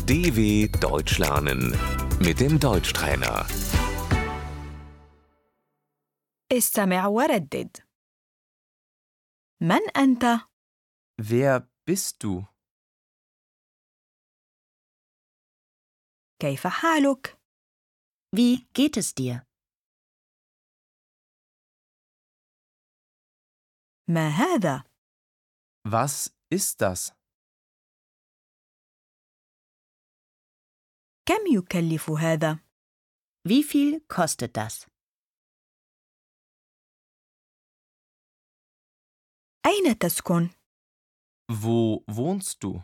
DW Deutsch lernen mit dem Deutschtrainer. استمع وردد. من أنت؟ Wer bist du? كيف حالك؟ Wie geht es dir? ما هذا؟ Was ist das? كم يكلف هذا؟ Wie viel kostet das? أين تسكن؟ Wo wohnst du?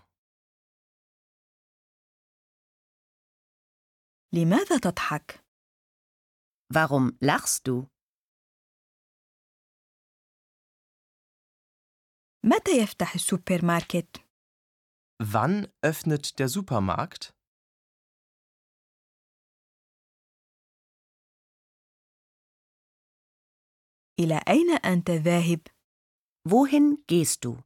لماذا تضحك؟ Warum lachst du? متى يفتح السوبر ماركت؟ Wann öffnet der Supermarkt? إلى أين أنت ذاهب؟ Wohin gehst du?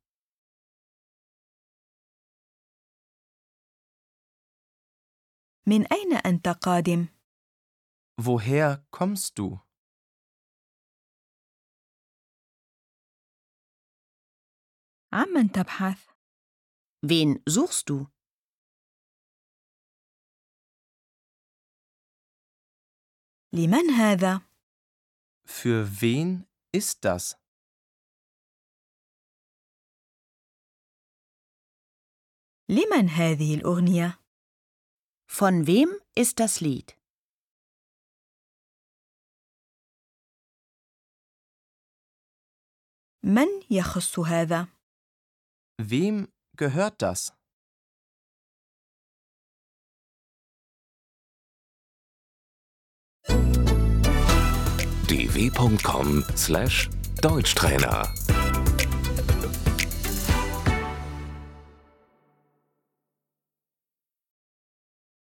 من أين أنت قادم؟ Woher kommst du? عمن تبحث؟ Wen suchst du? لمن هذا؟ Für wen ist das? لمن هذه الأغنية؟ Von wem ist das Lied? من يخص هذا؟ Wem gehört das? dw.com/Deutschtrainer